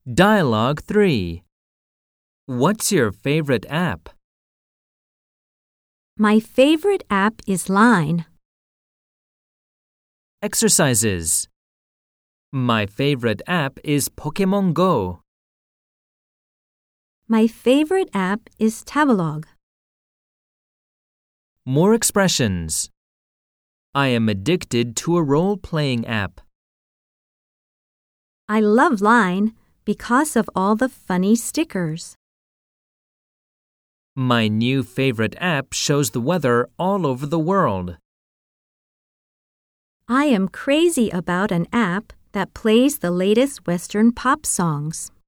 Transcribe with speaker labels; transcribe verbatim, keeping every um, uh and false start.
Speaker 1: Dialogue three. What's your favorite app?
Speaker 2: My favorite app is Line.
Speaker 1: Exercises. My favorite app is Pokemon Go.
Speaker 2: My favorite app is Tabelog.
Speaker 1: More expressions. I am addicted to a role-playing app.
Speaker 2: I love Line because of all the funny stickers.
Speaker 1: My new favorite app shows the weather all over the world.
Speaker 2: I am crazy about an app that plays the latest Western pop songs.